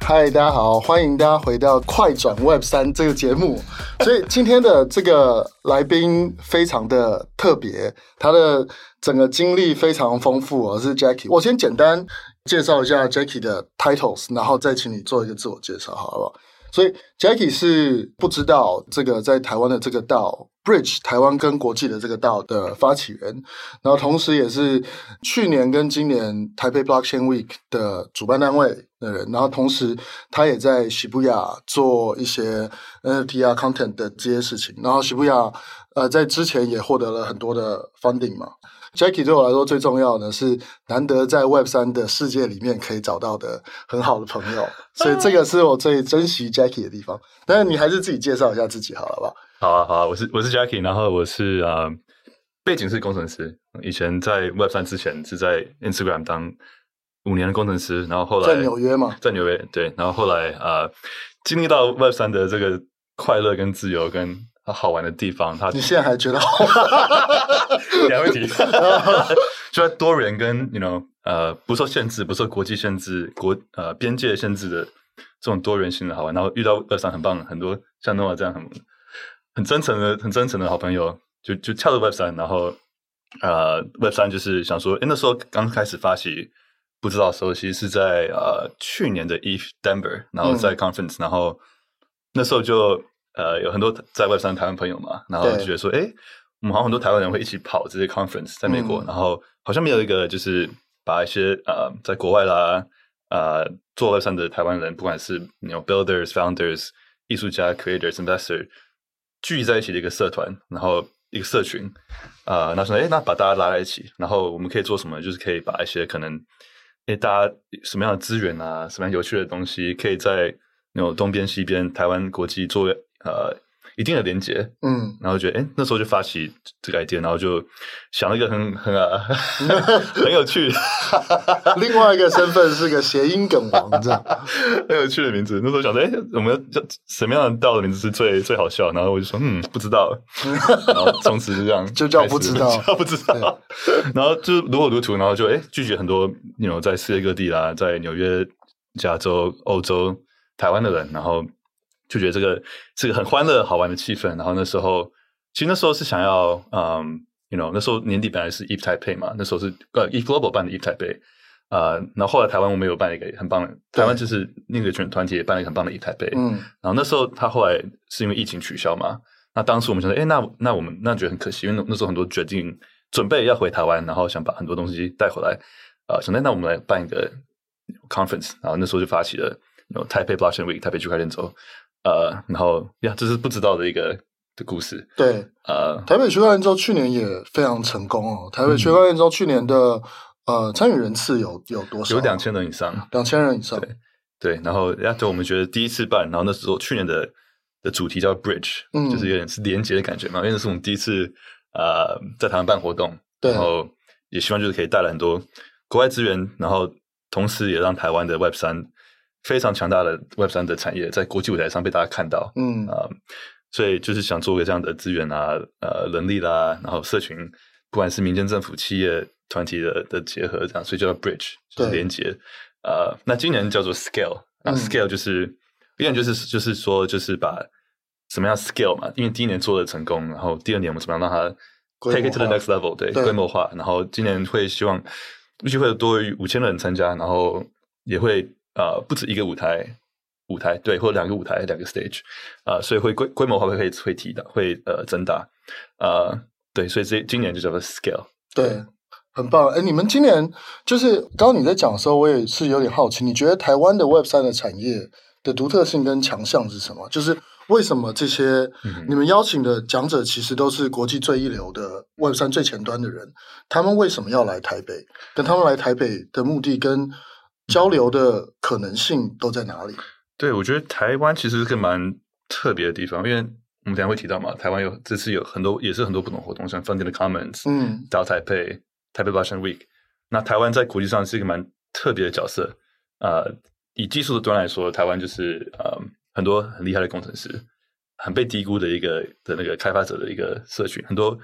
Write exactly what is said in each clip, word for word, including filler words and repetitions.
嗨，大家好，歡迎大家回到快轉 Web 三這個節目。所以今天的這個來賓非常的特別，他的整個經歷非常豐富哦，是 Jackie。我先簡單介紹一下 Jackie 的 titles， 然後再請你做一個自我介紹，好不好？所以 Jackie 是不知道這個在台灣的這個道 Bridge 台灣跟國際的這個道的發起人，然後同時也是去年跟今年台北 Blockchain Week 的主辦單位的人，然後同時他也在 Shibuya 做一些 N F T 啊 content 的這些事情，然後 Shibuya 呃在之前也獲得了很多的 funding 嘛。Jackie 對我來說最重要的是難得在 Web 三的世界裡面可以找到的很好的朋友，所以這個是我最珍惜 Jackie 的地方。但是你還是自己介紹一下自己好了吧？ 好啊，好啊，我是我是 Jackie， 然後我是呃背景是工程師，以前在 Web 三之前是在 Instagram 當五年的工程師，然後後來在紐約嘛， 在紐約對，然後後來呃經歷到 Web 三的這個快樂跟自由跟好玩的地方，他你現在還覺得好玩？ 兩個問題，就在多元跟 you know 呃不受限制、不受國際限制、國呃邊界限制的這種多元性的好玩，然後遇到 Web 三很棒，很多像 Noah 這樣很很真誠的、很真誠的好朋友，就就跳到 Web 三，然後呃 Web 三就是想說，誒那時候剛開始發起，不知道的時候，其實是在呃去年的 E T H Denver， 然後在 conference，、嗯、然後那時候就。呃，有很多在 Web 三台灣朋友嘛，然後就覺得說，哎，我們好像很多台灣人會一起跑這些 conference 在美國，嗯、然後好像沒有一個就是把一些呃在國外啦，呃做 Web 三的台灣人，不管是 you know builders、founders、藝術家、creators、investor 聚集在一起的一個社團，然後一個社群，呃，那說，哎，那把大家拉在一起，然後我們可以做什麼？就是可以把一些可能，哎，大家什麼樣的資源啊，什麼樣有趣的東西，可以在那種東邊、西邊、台灣、國際做。呃，一定的連結，嗯，然後覺得，哎，那時候就發起這個 idea，然後就想了一個很很啊很有趣的， 另外一個身份是個諧音梗王，這樣很有趣的名字。那時候想說，哎，我們要叫什麼樣的道的名字是最最好笑？然後我就說，嗯，不知道。然後從此就這樣就叫不知道， 叫不知道。然後就如火如荼，然後就哎拒絕很多，你 you know 在世界各地啦，在紐約、加州、歐洲、台灣的人，然後。就覺得這個是個很歡樂好玩的氣氛，然後那時候其實那時候是想要，嗯 ，you know， 那時候年底本來是 E T H Taipei 嘛，那時候是呃 E T H Global 辦的 E T H Taipei，呃，然後後來台灣我們有辦一個很棒的，台灣就是那個團團體也辦了一個很棒的 E T H Taipei，嗯，然後那時候他後來是因為疫情取消嘛，那當時我們想說，哎，那那我們那覺得很可惜，因為那時候很多決定準備要回台灣，然後想把很多東西帶回來，呃，想那那我們來辦一個 conference，然後那時候就發起了 you know, Taipei Blockchain Week 台北區塊鏈週。呃，然後呀，這是不知道的一個的故事。對，呃， 台北區塊鏈週去年也非常成功哦。台北區塊鏈週去年的、嗯、呃參與人次有有多少？ 有兩千人以上， 兩千人以上。 對，對，然後呀，就我們覺得第一次辦，然後那時候去年的的主題叫 Bridge，、嗯、就是有點是連結的感覺嘛，因為那是我們第一次呃在台灣辦活動，對，然後也希望就是可以帶來很多國外資源，然後同時也讓台灣的 Web 三。非常強大的 Web 三的產業在國際舞台上被大家看到，嗯啊、呃，所以就是想做個這樣的資源啊，呃，人力啦，然後社群，不管是民間政府、企業團體的的結合，這樣，所以叫做 Bridge，就是連結。呃，那今年叫做 Scale， 那 Scale 就是，一、嗯、點就是就是說，就是把什麼樣 Scale 嘛，因為第一年做的成功，然後第二年我們怎麼樣讓它 take it to the next level， 對，規模化，然後今年會希望預計會有多於五千人參加，然後也會。呃，不止一個舞台，舞台對，或者兩個舞台，兩個 stage， 啊、呃，所以會規規模化會會會提的，會呃增大，呃，對，所以這今年就叫做 scale， 對，很棒。哎，你們今年就是剛剛你在講的時候，我也是有點好奇，你覺得台灣的 Web 三的產業的獨特性跟強項是什麼？就是為什麼這些、嗯、你們邀請的講者其實都是國際最一流的 Web 三最前端的人，他們為什麼要來台北？跟他們來台北的目的跟交流的可能性都在哪裡？ 對，我覺得台灣其實是個蠻特別的地方，因為我們等一下會提到嘛，台灣有這次有很多也是很多不同活動，像 Funding the Commons，嗯，到台北台北 Blockchain Week。那台灣在國際上是一個蠻特別的角色，呃，以技術的端來說，台灣就是呃很多很厲害的工程師，很被低估的一個的那個開發者的一個社群，很多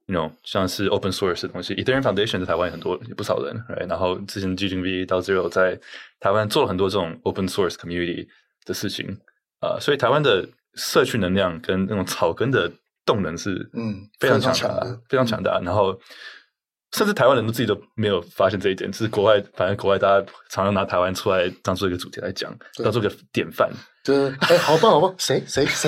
you know 像是 open source 的東西 ，Ethereum Foundation 在台灣有很多有不少人 ，right? 然後之前 G 零 V 到 Zero 在台灣做了很多這種 open source community 的事情，呃，所以台灣的社區能量跟那種草根的動能是嗯非常強大，嗯、非常強大，嗯、然後。甚至台灣人都自己都沒有發現這一點，就是國外，反正國外大家常常拿台灣出來當做一個主題來講，當做一個典範。對，哎，好棒好棒，誰誰誰？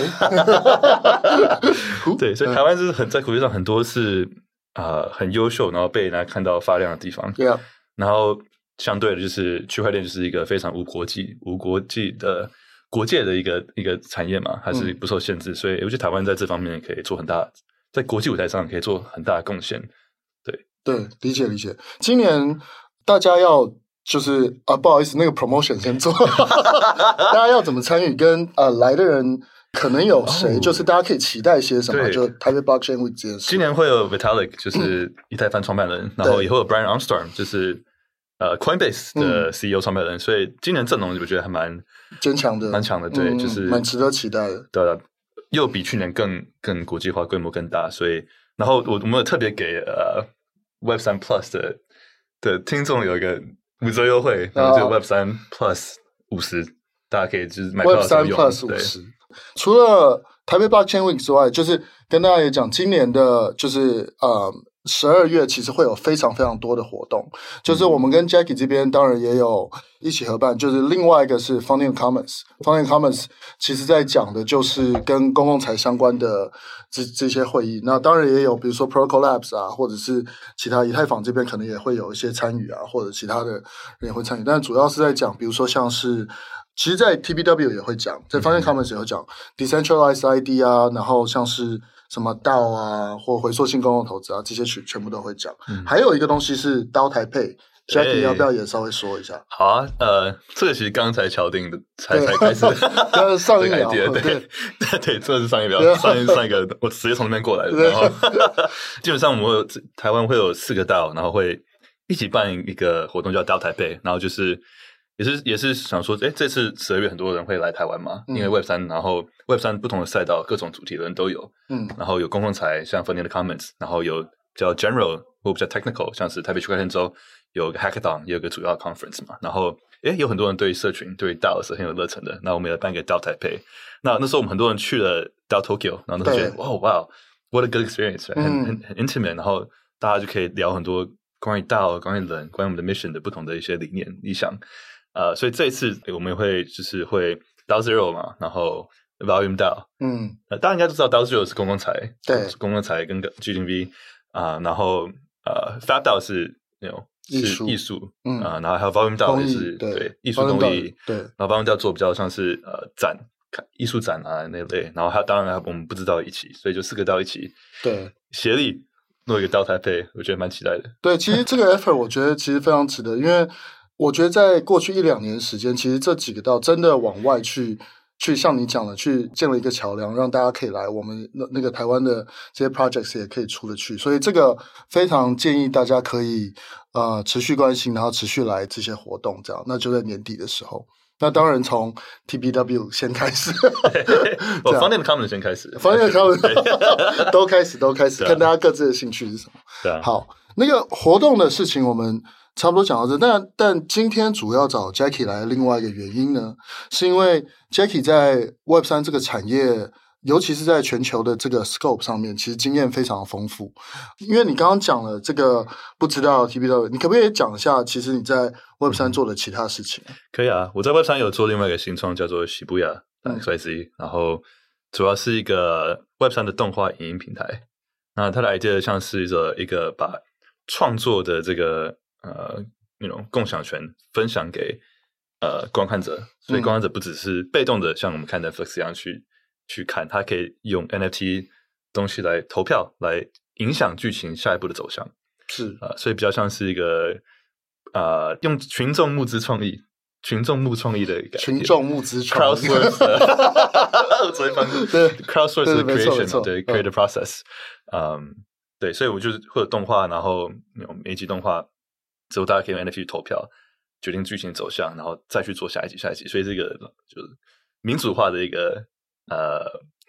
對，所以台灣是很在國際上很多是啊、呃、很優秀，然後被人家看到發亮的地方。對啊。然後相對的，就是區塊鏈就是一個非常無國際、無國際的國界的一個一個產業嘛，還是不受限制，嗯、所以我覺得台灣在這方面可以做很大，在國際舞台上可以做很大的貢獻。對，理解理解。今年大家要就是啊，不好意思，那個 promotion 先做。大家要怎麼參與？跟呃來的人可能有誰？哦、就是大家可以期待些什麼？就台北 Blockchain Week 這件事。今年會有 Vitalik，就是以太坊創辦人，嗯、然後以後有 Brian Armstrong，就是呃 Coinbase 的 C E O 創辦人。嗯、所以今年陣容我覺得還蠻堅強的，蠻強的。對，嗯、就是蠻值得期待的。對的，又比去年更更國際化，規模更大。所以，然後我我們有特別給呃。Web 三 Plus 的的聽眾有一個五折優惠，然後就 Web 三 Plus 五十，大家可以就是買票的時候用。Web 三 Plus 五十，除了台北 Blockchain Week 之外，就是跟大家也講，今年的就是呃十二月其實會有非常非常多的活動，就是我們跟 Jackie 這邊當然也有一起合辦，就是另外一個是 Founding Commons，Founding Commons 其實在講的就是跟公共財相關的這這些會議，那當然也有比如說 Protocol Labs 啊，或者是其他以太坊這邊可能也會有一些參與啊，或者其他的人也會參與，但主要是在講，比如說像是其實在 T B W 也會講，在 Founding Commons 也會講 Decentralized I D 啊，然後像是什麼 D A O 啊，或回溯性公共投資啊，這些全全部都會講。嗯、還有一個東西是 D A O 台配 Jackie 要不要也稍微說一下？好啊，呃，這個其實剛才敲定的，才才開始，剛上一秒，對對對，對，這個是上一秒，上一上一個，我直接從那邊過來的。然後基本上我們會有台灣會有四個 D A O，然後會一起辦一個活動叫 D A O 台配，然後就是也是也是想說，哎，這次十二月很多人會來台灣嘛，因為 Web 三，然後 Web 三不同的賽道，各種主題的人都有，嗯，然後有公共財，像 Funding the Commons，然後有比較 General 或比較 Technical，像是台北區塊鏈週有個 Hackathon，也有個主要 Conference 嘛，然後誒有很多人對社群對 D A O 是很有熱忱的，那我們也辦個 D A O 台北，那那時候我們很多人去了 D A O Tokyo，然後都覺得哇哇 ，What a good experience，、嗯、很很很 intimate，然後大家就可以聊很多關於 D A O、關於人、關於我們的 mission 的不同的一些理念理想。呃，所以這一次我們會就是會 D A O Zero 嘛，然後 Volume D A O， 嗯，呃，大家應該都知道 D A O Zero 是公共財，對，公共財跟 G 零 V 啊、呃，然後呃 Fab D A O 是那種是藝術，嗯啊、呃，然後還有 Volume D A O 也是對，對藝術公益，對，然後 Volume D A O 做比較像是呃展藝術展啊那類，然後還有當然我們不知道一起，所以就四個 D A O 一起對協力弄一個 D A O 台北，我覺得蠻期待的。對，其實這個 effort 我覺得其實非常值得，因為。我覺得在過去一兩年時間，其實這幾個D A O真的往外去，去像你講的，去建了一個橋樑，讓大家可以來我們那那個台灣的這些 projects 也可以出得去，所以這個非常建議大家可以呃持續關心，然後持續來這些活動，這樣那就在年底的時候。那當然從 T B W 先開始，我 Founding the Commons 先開始 ，Founding the Commons 都開始都開始，看大家各自的興趣是什麼。對啊，好，那個活動的事情我們。差不多講到這，但但今天主要找 Jackie 來的另外一個原因呢，是因為 Jackie 在 Web 三這個產業，尤其是在全球的這個 scope 上面，其實經驗非常豐富。因為你剛剛講了這個不知道 T B W， 你可不可以講一下，其實你在 Web 三做的其他事情？可以啊，我在 Web 三有做另外一個新創，叫做 Shibuya X Y Z，、嗯、然後主要是一個 Web 三的動畫影音平台。那它的 idea 像是一個一個把創作的這個呃，那種共享權分享給呃觀看者，所以觀看者不只是被動的，像我們看 Netflix 一樣去去看，他可以用 N F T 東西來投票，來影響劇情下一步的走向。是啊、呃，所以比較像是一個呃，用群眾募資創意、群眾募創意的感覺，群眾募資創意 ，crowdsource， 昨天翻譯對 crowdsource 的 creation， 對 creative process， 嗯，對，所以我就是會有動畫，然後那種每一集動畫。之後大家可以用 N F T 投票決定劇情走向，然後再去做下一集、下一集，所以這個就是民主化的一個呃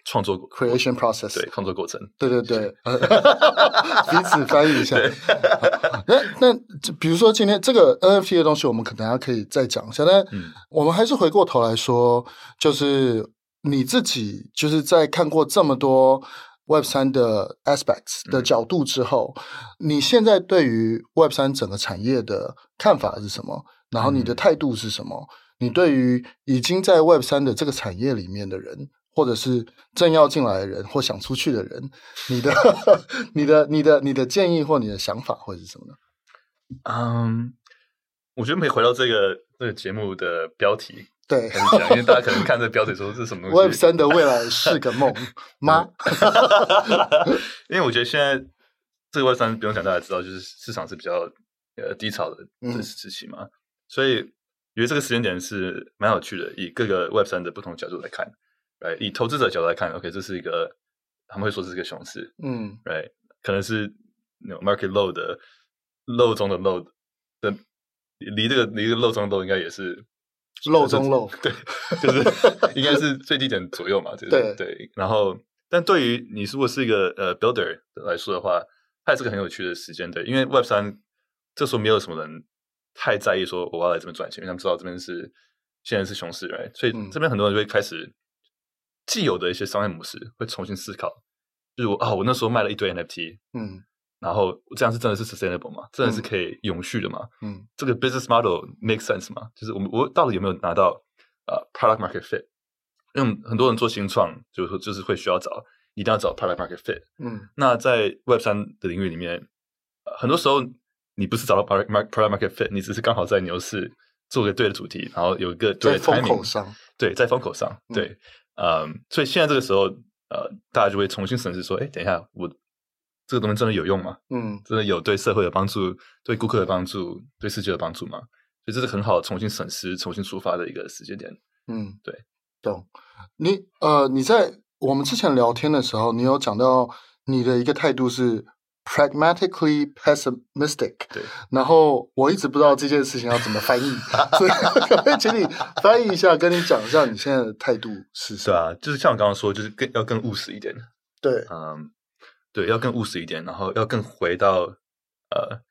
創作 creation process， 對，創作過程， 對對對，彼此翻譯一下。那那比如說今天這個 N F T 的東西，我們可能還可以再講一下。但我們還是回過頭來說，就是你自己就是在看過這麼多 Web 三 的 aspects 的角度之後，嗯、你現在對於 Web 三 整個產業的看法是什麼？然後你的態度是什麼？嗯、你對於已經在 Web 三 的這個產業裡面的人，或者是正要進來的人，或想出去的人，你的、你的、你的、你的建議或你的想法會是什麼呢？ 嗯，我覺得可以回到這個這個節目的標題。 對， 因為大家可能看這個標題說這是什麼東西 Web 三 的未來是個夢嗎？ 因為我覺得現在這個 Web 三不用講，大家知道，就是市場是比較呃低潮的這時期嘛，嗯、所以覺得這個時間點是蠻有趣的。以各個 Web 三 的不同角度來看，right? 以投資者角度來看 ，OK， 這是一個他們會說這是一個熊市，嗯，right， 可能是 you know, market low 的 low 中的 low 的，離這個離這個 low 中的 low 應該也是。 漏中漏， 對，就是應該是最低點左右嘛，就是、對對。然後，但對於你如果是一個呃 builder 來說的話，它也是個很有趣的時間，對，因為 Web 三這時候沒有什麼人太在意說我要來這邊賺錢，因為他們知道這邊是現在是熊市，right？所以這邊很多人就會開始既有的一些商業模式會重新思考，就是我啊、哦，我那時候賣了一堆 N F T，嗯。然後這樣是真的是 sustainable 嗎？真的是可以永續的嗎？嗯，這個 business model make sense 嗎？就是我們我到底有沒有拿到呃、uh, product market fit？因為很多人做新創，就是說就是會需要找一定要找 product market fit。嗯，那在 Web 三 的領域裡面，呃，很多時候你不是找到 product product market fit，你只是剛好在牛市做個對的主題，然後有一個對的 timing，在風口上，對，在風口上，嗯、對，嗯，所以現在這個時候，呃，大家就會重新審視說，哎，等一下我。這個東西真的有用嗎？嗯，真的有對社會有幫助、對顧客的幫助、對世界的幫助嗎？所以這是很好重新審視、重新出發的一個時間點。嗯，對，懂。你呃，你在我們之前聊天的時候，你有講到你的一個態度是 pragmatically pessimistic。對。然後我一直不知道這件事情要怎麼翻譯，所以可不可以請你翻譯一下，跟你講一下你現在的態度是什麼？對啊，就是像我剛剛說，就是更要更務實一點。對，嗯。對，要更務實一點，然後要更回到呃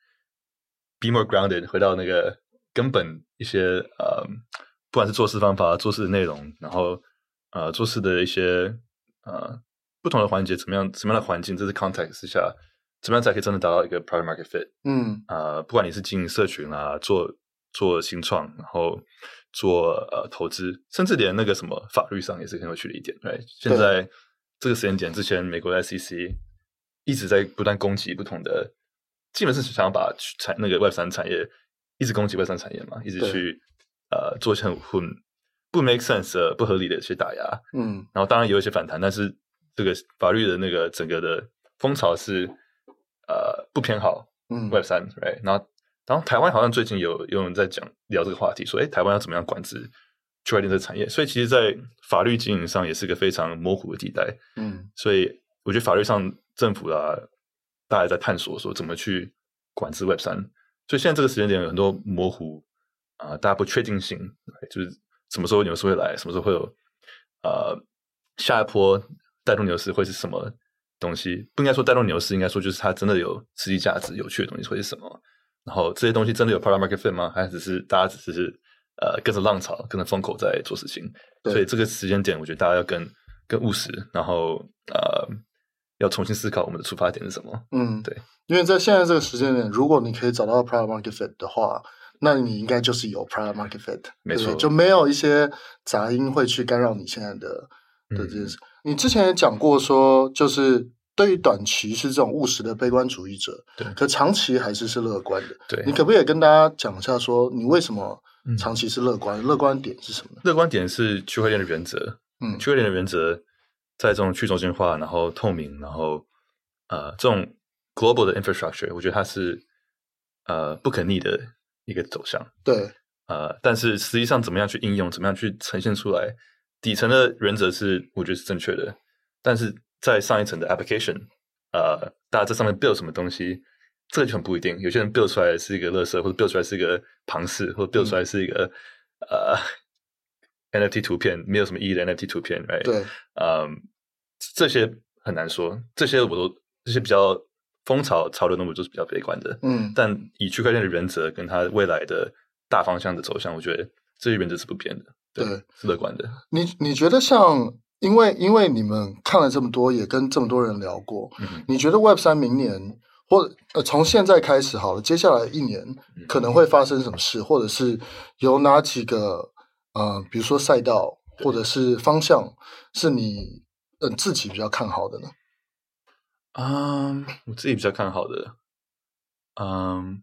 ，be more grounded，回到那個根本一些呃，不管是做事方法、做事的內容，然後呃，做事的一些呃不同的環節，怎麼樣，什麼樣的環境，這是 context 之下，怎麼樣才可以真的達到一個 product market fit？嗯，呃，不管你是經營社群啊，做做新創，然後做呃投資，甚至連那個什麼法律上也是很有趣的一點。對，現在這個時間點之前，美國的 S E C。一直在不斷攻擊不同的，基本是想要把產那個 Web 三 產業一直攻擊 Web 三 產業嘛，一直去呃做一些很混不 make sense 的不合理的一些打壓，嗯，然後當然也有一些反彈，但是這個法律的那個整個的風潮是呃不偏好 Web 三，嗯，right？ 然後然後台灣好像最近有有人在講聊這個話題，說哎，台灣要怎麼樣管制區塊鏈這個產業？所以其實，在法律經營上也是個非常模糊的地帶，嗯，所以我覺得法律上。政府啊，大家在探索說怎麼去管制 Web 三，所以現在這個時間點有很多模糊啊，呃，大家不確定性，就是什麼時候牛市會來，什麼時候會有呃下一波帶動牛市會是什麼東西？不應該說帶動牛市，應該說就是它真的有實際價值、有趣的東西會是什麼？然後這些東西真的有 product market fit 嗎？還是只是大家只是呃跟着浪潮、跟着風口在做事情？所以這個時間點，我覺得大家要更更務實，然後呃。要重新思考我們的出發點是什麼？嗯，對，因為在現在這個時間點，如果你可以找到 product market fit 的話，那你應該就是有 product market fit，沒錯，就沒有一些雜音會去干擾你現在的的這件事。嗯，你之前也講過說，就是對於短期是這種務實的悲觀主義者，對，可長期還是是樂觀的。對，你可不可以跟大家講一下，說你為什麼長期是樂觀？嗯，樂觀點是什麼呢？樂觀點是區塊鏈的原則。嗯，區塊鏈的原則。在這種去中心化，然後透明，然後呃，這種 global 的 infrastructure，我覺得它是呃不可逆的一個走向。對，呃，但是實際上怎麼樣去應用，怎麼樣去呈現出來，底層的原則是我覺得是正確的，但是在上一層的 application，呃，大家在上面 build 什麼東西，這個就很不一定。有些人 build 出來是一個垃圾，或者 build 出來是一個龐氏，或者 build 出來是一個、嗯、呃。N F T 圖片沒有什麼意義的 N F T 圖片 ，right？對，嗯， 這些很難說，這些我都這些比較風潮潮流的，我都是比較悲觀的。嗯，但以區塊鏈的原則跟它未來的大方向的走向，我覺得這些原則是不變的，對，對是樂觀的。 你你覺得像，因為因為你們看了這麼多，也跟這麼多人聊過，嗯、你覺得 Web 三明年或呃從現在開始好了，接下來一年可能會發生什麼事，嗯、或者是有哪幾個呃，比如說賽道或者是方向，是你呃自己比較看好的呢？ 嗯，我自己比較看好的，嗯，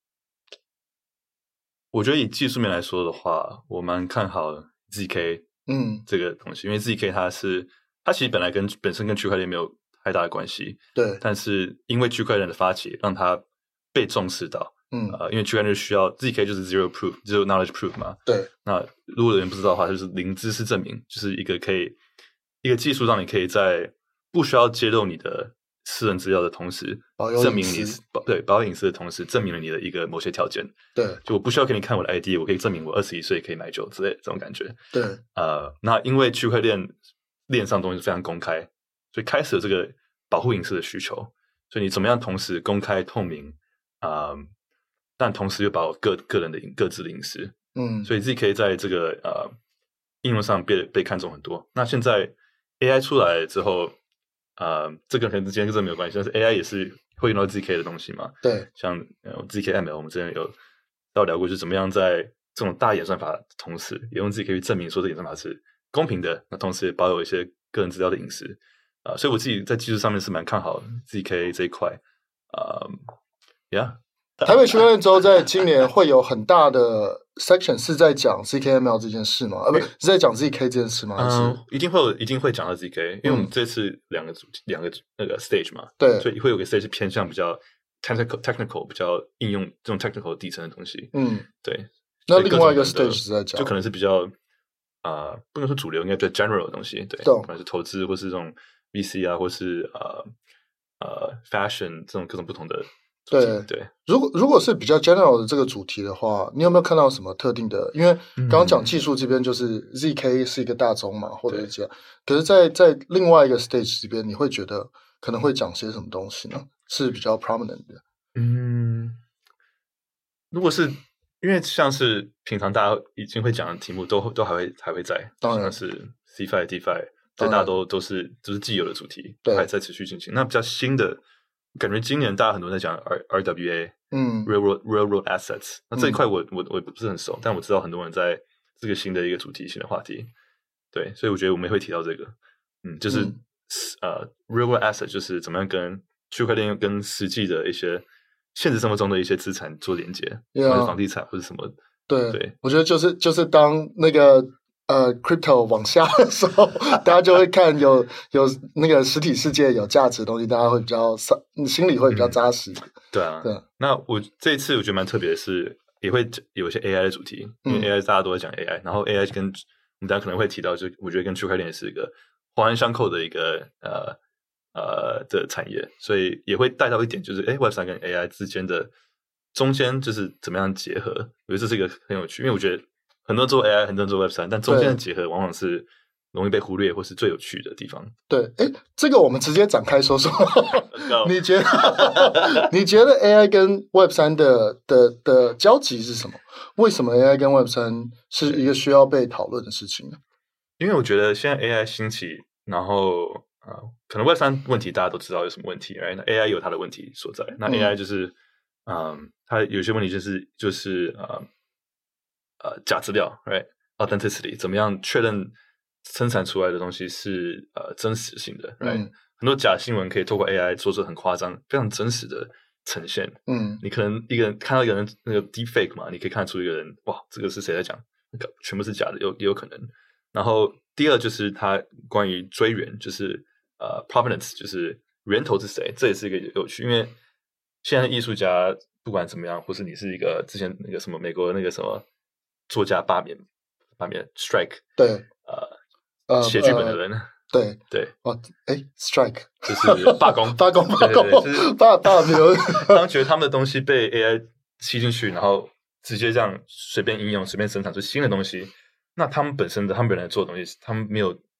我覺得以技術面來說的話，我蠻看好 Z K 嗯這個東西，嗯、因為 Z K 它是它其實本來跟本身跟區塊鏈沒有太大的關係，對，但是因為區塊鏈的發起，讓它被重視到，嗯呃，因為區塊鏈需要 Z K 就是 zero proof，zero knowledge proof 嘛，對，那如果有人不知道的話，就是零知識證明，就是一個可以一個技術，讓你可以在不需要揭露你的私人資料的同時，證明你保對保有隱私的同時，證明了你的一個某些條件。對，就我不需要給你看我的 I D， 我可以證明我二十一歲可以買酒之類的這種感覺。對，呃，那因為區塊鏈鏈上東西非常公開，所以開始了這個保護隱私的需求。所以你怎麼樣同時公開透明啊、呃，但同時又保有個個人的各自的隱私。嗯，所以 Z K 在這個呃應用上被被看重很多。那現在 A I 出來之後。呃，這個可能之間跟這沒有關係，但是 A I 也是會用到 Z K 的東西嘛？對，像、呃、Z K M L，我們之前有到聊過，就是怎麼樣在這種大演算法的同時，也用 Z K 去證明說這演算法是公平的，那同時也保有一些個人資料的隱私啊、呃，所以我自己在技術上面是蠻看好 Z K 這一塊啊、呃、，Yeah。 台北區塊鏈週在今年會有很大的 section 是在講 Z K M L 這件事嗎？啊，不是，是在講 Z K 這件事嗎？還是、 嗯、一定會有，一定會講到 Z K，、嗯、因為我們這次兩個主題，兩個那個 stage 嘛，對，所以會有個 stage 偏向比較 technical technical 比較應用這種 technical 底層的東西。嗯，對。 那另外一個 stage 是在講， 就可能是比較啊、呃，不能說主流，應該比較 general 的東西，對，對可能是投資或是這種 V C 啊，或是呃呃 fashion 這種各種不同的。對對，對如果如果是比較 general 的這個主題的話，你有沒有看到什麼特定的？因為剛剛講技術這邊就是 Z K 是一個大宗嘛，嗯、或者是這樣。可是在，在在另外一個 stage 這邊，你會覺得可能會講些什麼東西呢？是比較 prominent 的。嗯， 如果是因為像是平常大家已經會講的題目都，都都還會還會在，當然是 CeFi、DeFi，這大家都都是都是既有的主題，對，還在持續進行。那比較新的。感覺今年大家很多人在講 R R W A，嗯 ，Railroad Railroad Assets，那這一塊我、嗯、我我不是很熟，但我知道很多人在這個新的一個主題新的話題，對，所以我覺得我們也會提到這個，嗯，就是、嗯、呃 Railroad Asset 就是怎麼樣跟區塊鏈跟實際的一些現實生活中的一些資產做連接，或者房地產或者什麼，對對，我覺得就是就是當那個。呃 ，crypto 往下的時候，大家就會看有有那個實體世界有價值的東西，大家會比較心裡會比較扎實、嗯。對啊，對。 那我這一次我覺得蠻特別的是，也會有一些 A I 的主題，因為 A I 大家都在講 A I，、嗯、然後 A I 跟我們大家可能會提到，就我覺得跟區塊鏈是一個環環相扣的一個呃呃的產業，所以也會帶到一點，就是哎 ，Web 三跟 A I 之間的中間就是怎麼樣結合，我覺得這是一個很有趣，因為我覺得。很多人做 A I， 很多人做 Web 三，但中間的結合往往是容易被忽略，或是最有趣的地方。 對，哎，這個我們直接展開說說。你覺得？你覺得 A I 跟 Web 三的的的交集是什麼？為什麼 A I 跟 Web 三是一個需要被討論的事情呢？ 因為我覺得現在 A I 興起，然後啊、呃，可能 Web 三問題大家都知道有什麼問題，哎，那 A I 有它的問題所在。那 A I 就是，嗯、呃，它有些問題就是就是呃。呃，假資料 ，right？Authenticity， 怎麼樣確認生產出來的東西是呃真實性的 ，right？、嗯、很多假新聞可以透過 A I 做出很誇張、非常真實的呈現。嗯，你可能一個人看到一個人那個 deepfake 嘛，你可以看出一個人，哇，這個是誰在講？那個全部是假的，有也有可能。然後第二就是它關於追源，就是呃 provenance， 就是源頭是誰，這也是一個有趣，因為現在藝術家不管怎麼樣，或是你是一個之前那個什麼美國的那個什麼。作家罷免，罷免 strike， 對，呃，寫劇本的人，呃、對對， 哦，哎 ，strike 就是罷工， 罷工，罷工，罷罷免。 他們覺得他們的東西被 A I 吸進去，然後直接這樣隨便應用、隨便生產出新的東西，那他們本身的他們本來做的東西，他們沒有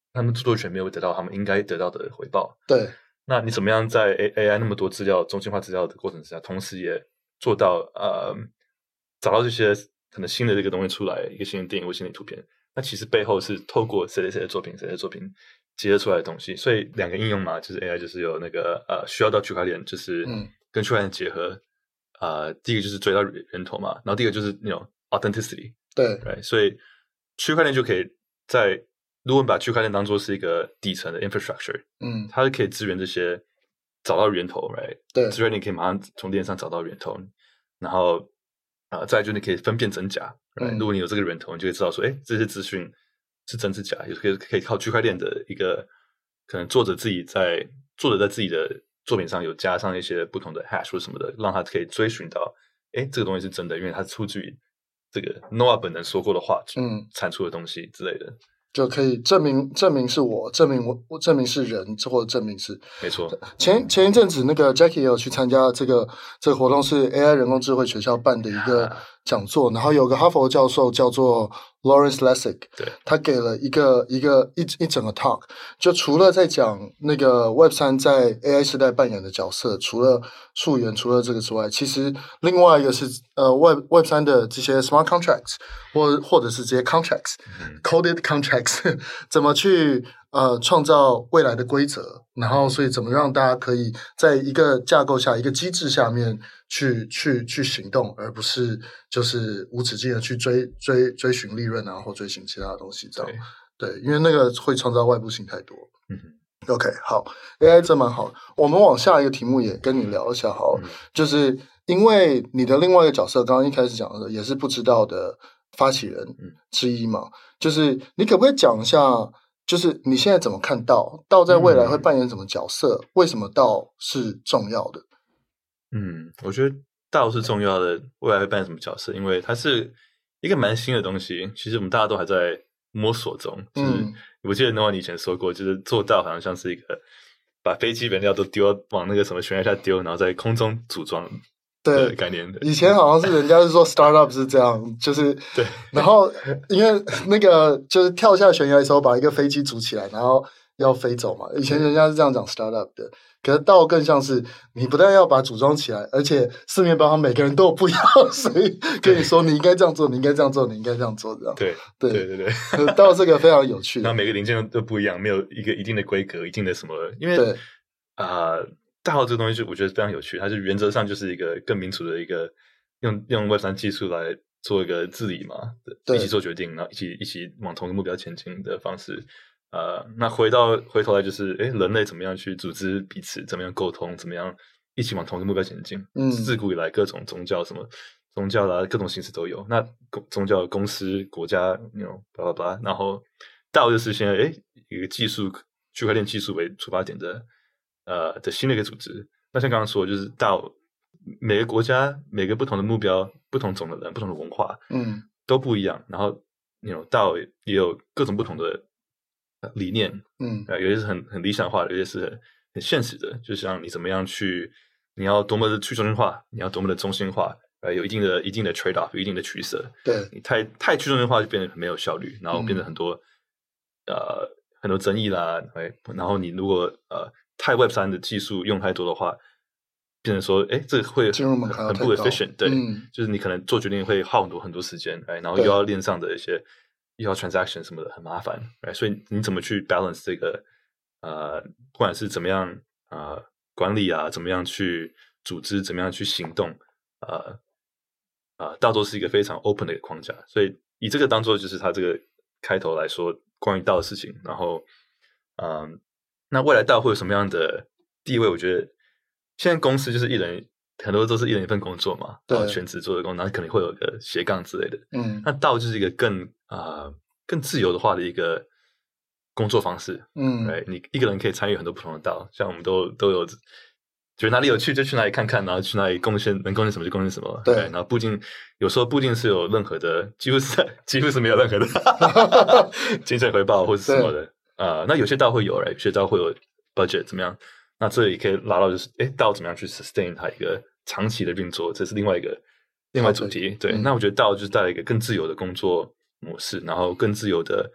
他們著作權沒有得到他們應該得到的回報。 對， 那你怎麼樣在 A I 那麼多資料、中心化資料的過程之下，同時也做到呃找到這些可能新的這個東西出來，一個新的電影或新的圖片？那其實背後是透過誰誰誰的作品、誰誰的作品結合出來的東西。所以兩個應用嘛，就是 A I 就是有那個呃需要到區塊鏈，就是跟區塊鏈結合。啊、呃，第一個就是追到源頭嘛，然後第二個就是那種 authenticity。對，right? 所以區塊鏈就可以在，如果你把區塊鏈當做是一個底層的 infrastructure，嗯，它是可以支援這些找到源頭，right？對，支援你可以馬上從鏈上找到源頭，然後啊、呃，再來就是你可以分辨真假，right？、嗯、如果你有這個源頭，你就會知道說，哎，這些資訊是真是假，也可以可以靠區塊鏈的一個可能作者自己在作者在自己的作品上有加上一些不同的 hash 或什麼的，讓他可以追尋到，哎，這個東西是真的，因為它是出自於這個 Noah 本人說過的話，嗯，產出的東西之類的， 就可以證明證明是我，證明我，我證明是人，或者證明是沒錯。 前前一陣子那個 Jackie 也有去參加這個這個活動，是 A I 人工智慧學校辦的一個講座，然後有個哈佛教授叫做 Lawrence Lessig， 對，他給了一個一個一一整個 talk， 就除了在講那個 Web 三在 A I 時代扮演的角色，除了溯源，除了這個之外，其實另外一個是呃 Web Web 三的這些 smart contracts 或或者是這些 contracts、嗯、coded contracts 怎麼去呃創造未來的規則，然後所以怎麼讓大家可以在一個架構下一個機制下面去去去行動，而不是就是無止境的去追追追尋利潤啊，或追尋其他的東西這樣。對，對，因為那個會創造外部性太多。嗯 OK， 好 ，A I 真蠻好。我們往下一個題目也跟你聊一下好了，嗯、就是因為你的另外一個角色，剛剛一開始講的也是不知道的發起人之一嘛，嗯、就是你可不可以講一下，就是你現在怎麼看道道在未來會扮演什麼角色？嗯、為什麼道是重要的？ 嗯，我覺得道是重要的，未來會扮演什麼角色？因為它是一個蠻新的東西，其實我們大家都還在摸索中。就是、嗯、我記得 Noah 你以前說過，就是做道好像像是一個把飛機燃料都丟往那個什麼懸崖下丟，然後在空中組裝的概念的。 以前好像是人家是說 startup 是這樣，就是對，然後因為那個就是跳下懸崖的時候把一個飛機組起來，然後要飛走嘛。以前人家是這樣講 startup 的。可是道更像是你不但要把它組裝起來，而且四面八方每個人都有不一樣，所以跟你說你應該這樣做，你應該這樣做，你應該這樣做，這樣。對對對對對，道這個非常有趣。 然後每個零件都不一樣，沒有一個一定的規格，一定的什麼。因為啊，道、呃、這個東西就我覺得非常有趣，它是原則上就是一個更民主的一個用用 Web 三技術來做一個治理嘛，對，一起做決定，然後一起一起往同一個目標前進的方式。呃，那回到回頭來就是，誒，人類怎麼樣去組織彼此，怎麼樣溝通，怎麼樣一起往同一個目標前進？嗯，自古以來各種宗教什麼宗教啦，各種形式都有。那宗教公司、國家，那種巴拉巴拉，然後道就是現在誒一個技術區塊鏈技術為出發點的呃的新的一個組織。那像剛剛說的，就是道每個國家每個不同的目標、不同種的人、不同的文化，嗯，都不一樣。然後那種道也有各種不同的理念，嗯，有些是很很理想化的，有些是很很現實的。就像你怎麼樣去，你要多麼的去中心化，你要多麼的中心化，呃，有一定的一定的 trade off， 有一定的取捨。對，你太太去中心化就變得很沒有效率，然後變得很多、嗯、呃很多爭議啦。然後你如果呃太 Web 三的技術用太多的話，變成說，哎，這個會很很不 efficient。對，嗯、就是你可能做決定會耗很多很多時間，然後又要鏈上的一些。要 transaction 什麼的很麻煩，right? 所以你怎麼去 balance 這個呃，不管是怎麼樣呃管理啊，怎麼樣去組織，怎麼樣去行動，呃呃，道都是一個非常 open 的一個框架。所以以這個當做就是它這個開頭來說關於道的事情。然後，嗯、呃，那未來道會有什麼樣的地位？我覺得現在公司就是一人。很多都是一人一份工作嘛，然後全職做的工作，然後可能會有個斜槓之類的。嗯，那道就是一個更啊、呃、更自由的話的一個工作方式。嗯，對，你一個人可以參與很多不同的道，像我們都都有覺得哪裡有趣就去哪裡看看，然後去哪裡貢獻能貢獻什麼就貢獻什麼。對，然後不一定有時候不一定是有任何的，幾乎是幾乎是沒有任何的精神回報或者什麼的啊、呃。那有些道會有，有些道會有 budget 怎麼樣？那這也可以拉到就是，誒，道怎麼樣去 sustain 它一個長期的運作，這是另外一個另外主題。對，嗯、那我覺得道就是帶來一個更自由的工作模式，然後更自由的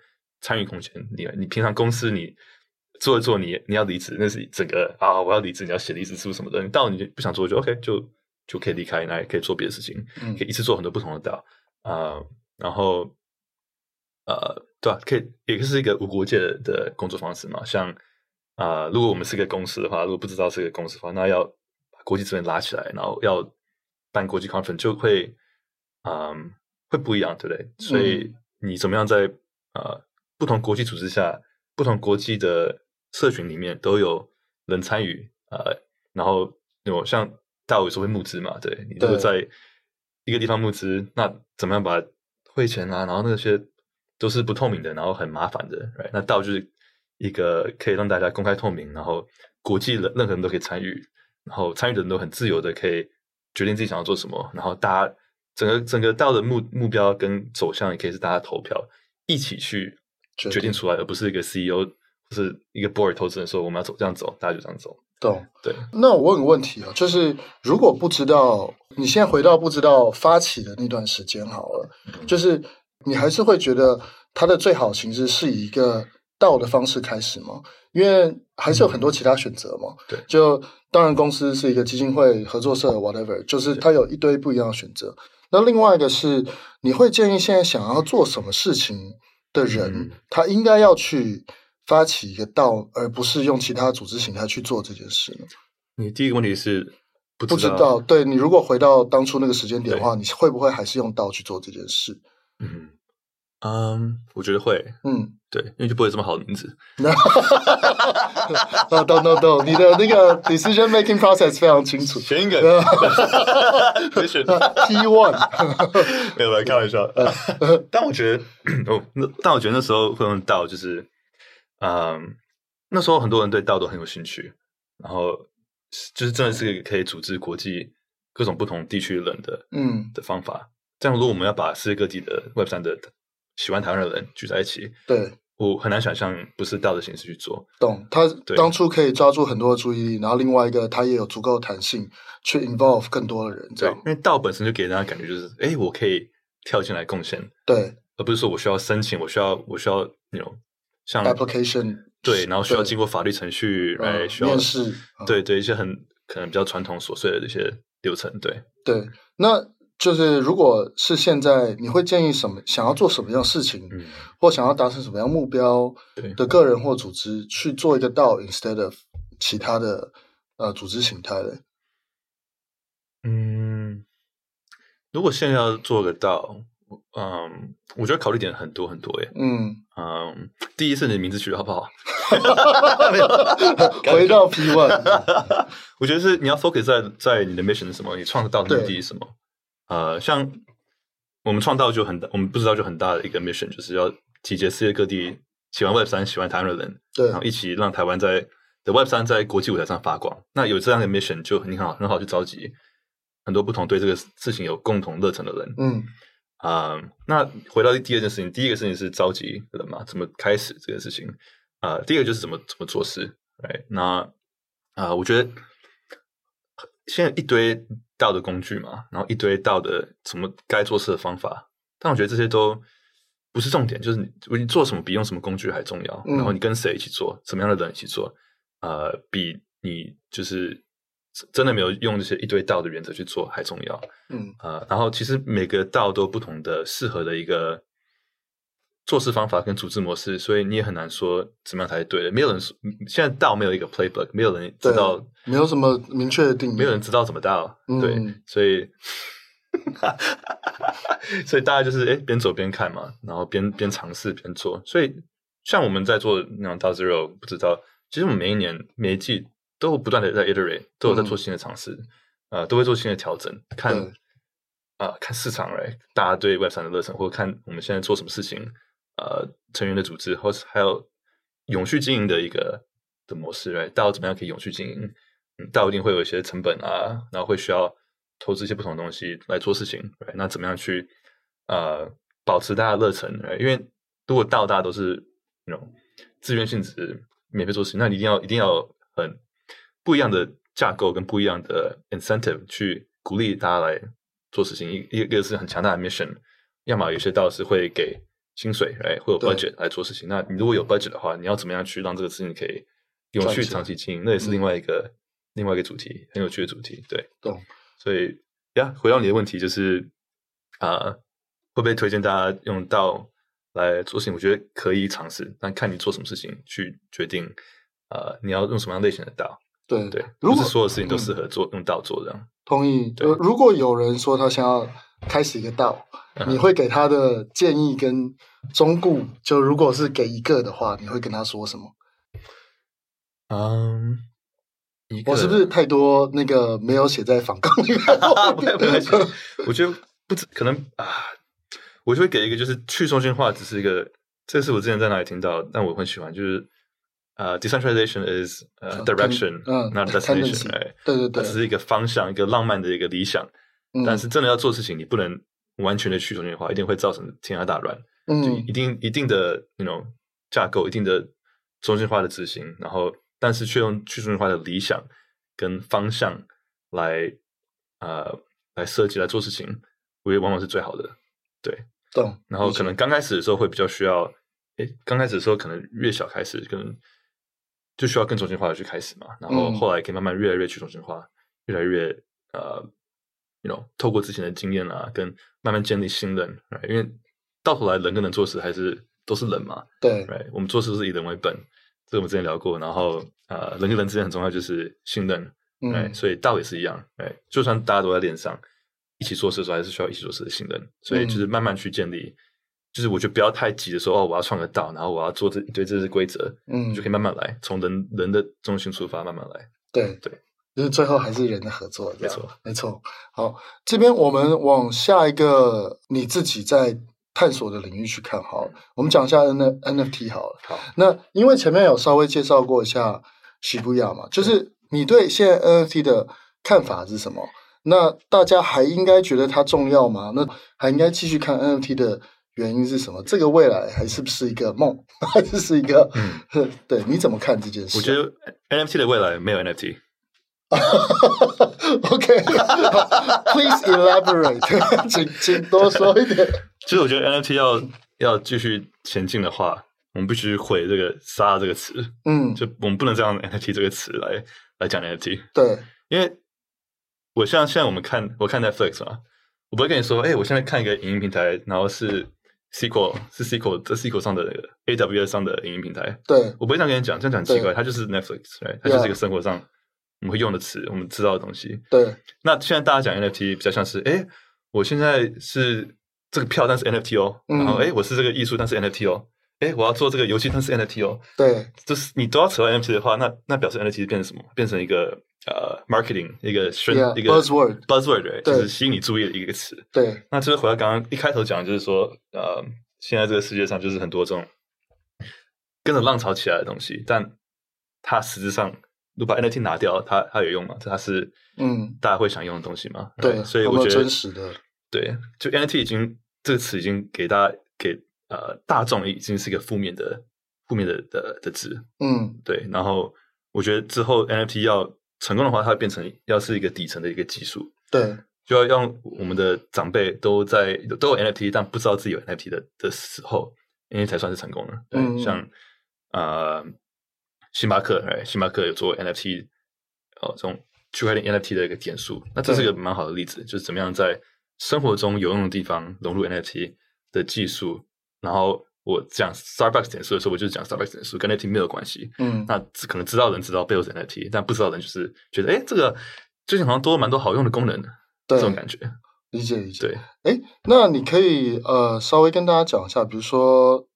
參與空間。你你平常公司你做一做你，你你要離職，那是整個啊，我要離職，你要寫離職書什麼的。你到你就不想做就 OK，就就可以離開，那也可以做別的事情，嗯、可以一次做很多不同的DAO啊、呃，然後呃，對吧、啊？可以也是一個無國界的，的工作方式嘛。像啊、呃，如果我們是個公司的話，如果不知道是個公司的話，那要把國際資源拉起來，然後要辦國際 conference 就會嗯、呃、會不一樣，對不對？所以你怎麼樣在呃不同國際組織下，不同國際的社群裡面都有人參與，呃，然後有像DAO有時候會募資嘛，對，你如果在一個地方募資，那怎麼樣把匯錢啊，然後那些都是不透明的，然後很麻煩的，right？那DAO就是一個可以讓大家公開透明，然後國際的任何人都可以參與，然後參與的人都很自由的可以決定自己想要做什麼，然後大家整個整個DAO的目目標跟走向也可以是大家投票一起去決定出來，而不是一個 C E O 或是一個 board 投資人說我們要走這樣走，大家就這樣走。 懂。 對。 那我問個問題啊，就是如果不知道，你現在回到不知道發起的那段時間好了，嗯、就是你還是會覺得它的最好形式是以一個DAO的方式開始嗎？因為還是有很多其他選擇嘛。 對、嗯。 就當然公司是一個基金會、合作社 whatever， 就是它有一堆不一樣的選擇。那另外一個是，你會建議現在想要做什麼事情的人，嗯、他應該要去發起一個DAO，而不是用其他組織形態去做這件事呢？ 你第一個問題是不知道，不知道對，你如果回到當初那個時間點的話，你會不會還是用DAO去做這件事？ 嗯嗯，我覺得會，嗯，對，因為就不會有這麼好的名字。 no no no no，你的那個 decision making process 非常清楚。 選一個，別選 T one， 沒有來開玩笑。但我覺得，哦，但我覺得那時候會用DAO，就是，嗯，那時候很多人對DAO都很有興趣，然後就是真的是一個可以組織國際各種不同地區的人的，嗯，的方法。這樣，如果我們要把世界各地的 Web 三的喜歡台灣的人聚在一起，對，我很難想象不是DAO的形式去做。 懂，他當初可以抓住很多的注意力，然後另外一個他也有足夠的彈性去 involve 更多的人，這樣。 對，因為DAO本身就給人家感覺就是，哎，我可以跳進來貢獻， 對， 而不是說我需要申請，我需要我需要那種像 application， 對，然後需要經過法律程序來、嗯、需要面試， 對對，一些很可能比較傳統瑣碎的這些流程，對對，那。就是如果是現在，你會建議什麼？想要做什麼樣的事情，嗯、或想要達成什麼樣目標的個人或組織去做一個DAO ，instead of 其他的呃組織形態的？ 嗯，如果現在要做個DAO，嗯，我覺得考慮點很多很多耶。嗯嗯，第一是你的名字取得好不好？ 回到 P one， 我覺得是你要 focus 在在你的 mission 是什麼，你創造的目的是什麼？呃，像我們創DAO就很大，我們不知道就很大的一個 mission，就是要集結世界各地喜歡 Web 三、喜歡台灣的人，對，然後一起讓台灣在的 Web 三在國際舞台上發光。那有這樣的 mission，就很好，很好去召集很多不同對這個事情有共同熱忱的人。嗯，啊、呃，那回到第二件事情，第一個事情是召集人嘛，怎麼開始這個事情？啊、呃，第二個就是怎麼怎麼做事。right？那啊、呃，我覺得現在一堆DAO的工具嘛，然後一堆DAO的什麼該做事的方法，但我覺得這些都不是重點，就是你你做什麼比用什麼工具還重要。嗯、然後你跟誰一起做，什麼樣的人一起做，呃，比你就是真的沒有用這些一堆DAO的原則去做還重要。嗯，呃，然後其實每個DAO都有不同的適合的一個做事方法跟組織模式，所以你也很難說怎麼樣才是對的。沒有人說現在DAO沒有一個 playbook， 沒有人知道， 沒有什麼明確的定義， 沒有人知道怎麼DAO。嗯、對，所以所以大家就是哎邊走邊看嘛，然後邊邊嘗試邊做。所以像我們在做那種DAO Zero，不知道其實我們每一年每一季都有不斷的在 iterate， 都有在做新的嘗試，嗯、呃，都會做新的調整，看啊、呃、看市場來，大家對 Web 三的熱忱，或者看我們現在做什麼事情。呃，成員的組織，或是還有永續經營的一個的模式，來DAO怎麼樣可以永續經營？嗯，DAO一定會有一些成本啊，然後會需要投資一些不同的東西來做事情。Right? 那怎麼樣去呃保持大家的熱忱？Right? 因為如果DAO大家都是那種自願性質、免費做事情，那你一定要一定要很不一樣的架構跟不一樣的 incentive 去鼓勵大家來做事情。一一個是很強大的 mission，要麼有些DAO是會給薪水，哎，會有 budget 來做事情。那你如果有 budget 的話，你要怎麼樣去讓這個事情可以永續長期經營？那也是另外一個、嗯、另外一個主題，很有趣的主題。對， 懂。 所以呀，回到你的問題，就是啊、呃，會不會推薦大家用道來做事情？我覺得可以嘗試，但看你做什麼事情去決定。呃，你要用什麼樣類型的道？ 對對，不是所有事情都適合做、嗯、用道做這樣。同意。 對，如果有人說他想要開始一個道，嗯、你會給他的建議跟忠告，就如果是給一個的話，你會跟他說什麼？ 嗯， 我是不是太多那個沒有寫在訪綱裡面？ 不會不會，我覺得不止可能啊，我就會給一個，就是去中心化只是一個，這是我之前在哪裡聽到，但我很喜歡，就是。呃、uh, decentralization is、uh, direction,、uh, not destination、right? 對對對， 它只是一個方向，一個浪漫的一個理想。嗯、但是真的要做事情，你不能完全的去中心化，一定會造成天下大亂。嗯，就一定一定的 you know 架構，一定的中心化的執行，然後但是卻用去中心化的理想跟方向來呃來設計來做事情，我覺得往往是最好的。對， 懂。 然後可能剛開始的時候會比較需要，誒，剛開始的時候可能越小開始可能。就需要更中心化的去開始嘛，然後後來可以慢慢越來越去中心化，嗯、越來越呃，you know，透過之前的經驗啊，跟慢慢建立信任， right? 因為到頭來人跟人做事還是都是人嘛， 對 ，right? 我們做事都是以人為本，這個我們之前聊過，然後呃，人跟人之間很重要就是信任，嗯，right? 所以道也是一樣，right? 就算大家都在鏈上一起做事的時候，還是需要一起做事的信任，所以就是慢慢去建立。嗯就是我覺得不要太急的說哦，我要創個道，然後我要做這一堆這些規則，嗯，就可以慢慢來，從人人的中心出發，慢慢來。 對對，就是最後還是人的合作， 沒錯沒錯。好，這邊我們往下一個你自己在探索的領域去看好了。我們講一下 N N F T 好了。 好， 那因為前面有稍微介紹過一下 Shibuya 嘛，就是你對現在 N F T 的看法是什麼？那大家還應該覺得它重要嗎？那還應該繼續看 N F T 的原因是什麼？這個未來還是不是一個夢，還是是一個？嗯，對，你怎麼看這件事？ 我覺得 N F T 的未來沒有 N F T。 OK，Please elaborate， 請請多說一點。 其實我覺得 N F T 要要繼續前進的話，我們必須毀這個“殺”這個詞。嗯，就我們不能這樣 N F T 這個詞來來講 N F T。對，因為我像現在我們看，我看 Netflix 嘛，我不會跟你說，哎、欸，我現在看一個影音平台，然後是。Sequel 是 Sequel 這 Sequel 上的 A W S 上的影音平台，對，我不會這樣跟你講，這樣講很奇怪，它就是 Netflix，right? 它就是一個生活上我們會用的詞，我們知道的東西。對，那現在大家講 N F T 比較像是，哎，我現在是這個票，但是 N F T 哦，嗯、然後哎，我是這個藝術，但是 N F T 哦，哎，我要做這個遊戲，但是 N F T 哦，對，就是你都要扯到 N F T 的話，那那表示 N F T 變成什麼？變成一個呃 marketing 一個宣 yeah, 一個 buzzword buzzword， 就是吸引你注意的一個詞。對，那就是回到剛剛一開頭講的，就是說呃。現在這個世界上就是很多這種跟着浪潮起來的東西，但它實質上，如果把 N F T 拿掉，它它有用嗎？它是嗯，大家會想用的東西嗎？對，right? 所以我覺得真實的對，就 N F T 已經這個詞已經給大家給呃大眾已經是一個負面的負面的的的詞，嗯，對。然後我覺得之後 N F T 要成功的話，它會變成要是一個底層的一個技術，對。就要讓我們的長輩都在都有 N F T， 但不知道自己有 N F T 的的時候，因為才算是成功的。對，嗯、像呃，星巴克，哎，星巴克有做 N F T， 哦，這種區塊鏈 N F T 的一個點數，那這是一個蠻好的例子，就是怎麼樣在生活中有用的地方融入 N F T 的技術。然後我講 Starbucks 點數的時候，我就是講 Starbucks 點數跟 N F T 沒有關係。嗯，那可能知道的人知道背後是 N F T， 但不知道的人就是覺得，哎，這個最近好像多了蠻多好用的功能的。對，這種感覺， 理解理解。 對， 哎，那你可以呃稍微跟大家講一下，比如說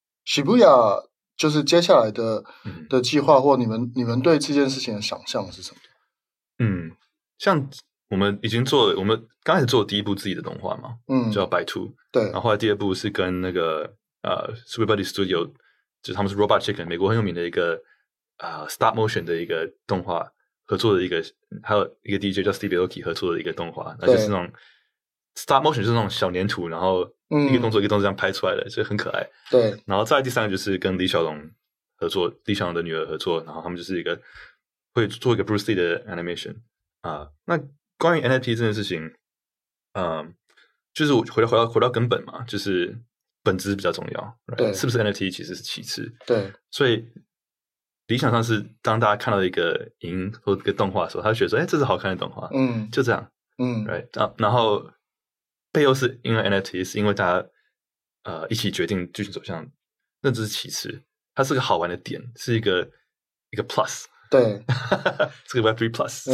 Shibuya 就是接下來的、嗯、的計劃，或你們你們對這件事情的想象是什麼？ 嗯，像我們已經做了，我們剛開始做第一部自己的動畫嘛，嗯，叫 By Two， 對，然後後來第二部是跟那個呃 Super Buddy Studio， 就是他們是 Robot Chicken， 美國很有名的一個啊、呃、Stop Motion 的一個動畫。合作的一個，還有一個 D J 叫 Steve Aoki 合作的一個動畫，那就是那種 stop motion，就是那種小黏土，然後一個動作一個動作這樣拍出來的，所以很可愛。對，然後再來第三個就是跟李小龍合作，李小龍的女兒合作，然後他們就是一個會做一個 Bruce Lee 的 animation 啊、呃。那關於 N F T 這件事情，嗯、呃，就是我回到回到回到根本嘛，就是本質比較重要， 對， 是不是 N F T 其實是其次， 對， 所以理想上是當大家看到一個影或一個動畫的時候，他就覺得說，哎，這是好看的動畫， 嗯， 就這樣， 嗯 ，right，然後背後是因為 N F T， 是因為大家呃一起決定劇情走向，那只是其次，它是個好玩的點，是一個一個 plus。 對， 這個 Web three Plus，